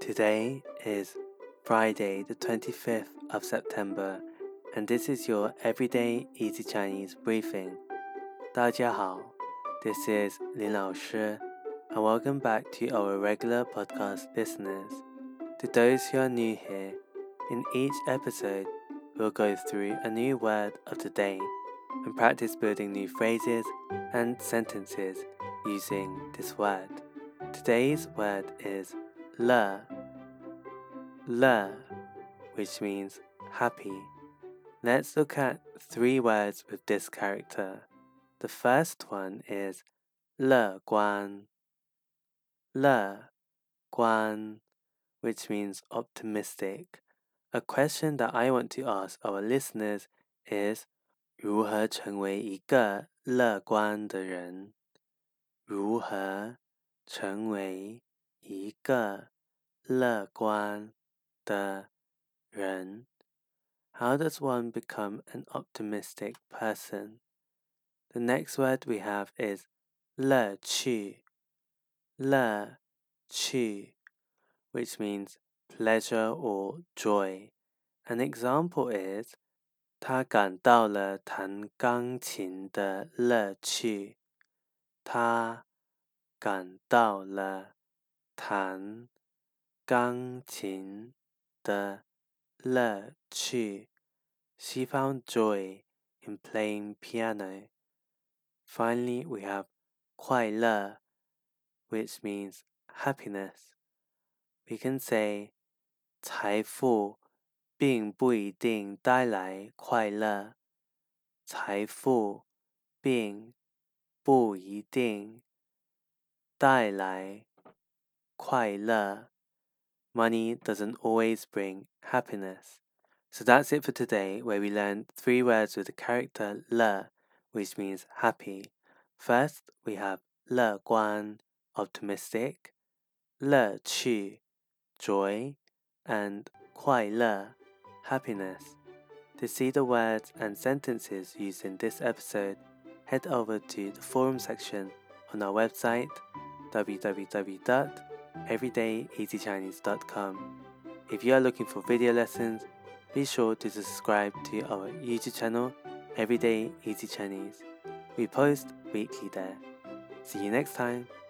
Today is Friday, the 25th of September, and this is your Everyday Easy Chinese briefing. 大家好, this is Lin Lao Shi, and welcome back to our regular podcast listeners. To those who are new here, in each episode, we'll go through a new word of the day and practice building new phrases and sentences using this word. Today's word is 乐, which means happy. Let's look at 3 words with this character. The first one is 乐观, which means optimistic. A question that I want to ask our listeners is 如何成为一个乐观的人？如何成为一个乐观的人？ How does one become an optimistic person? The next word we have is 乐趣, which means pleasure or joy. An example is 他感到了弹钢琴的乐趣。他感到了弹钢琴的乐趣。She found joy in playing piano. Finally, we have 快乐, which means happiness. We can say 财富并不一定带来快乐。财富并不一定带来快乐。Money doesn't always bring happiness. So that's it for today, where we learned 3 words with the character 乐, which means happy. First, we have 乐观, optimistic, 乐趣, joy, and 快乐, happiness. To see the words and sentences used in this episode, head over to the forum section on our website www.everydayeasychinese.com. If you are looking for video lessons, be sure to subscribe to our YouTube channel, Everyday Easy Chinese. We post weekly there. See you next time.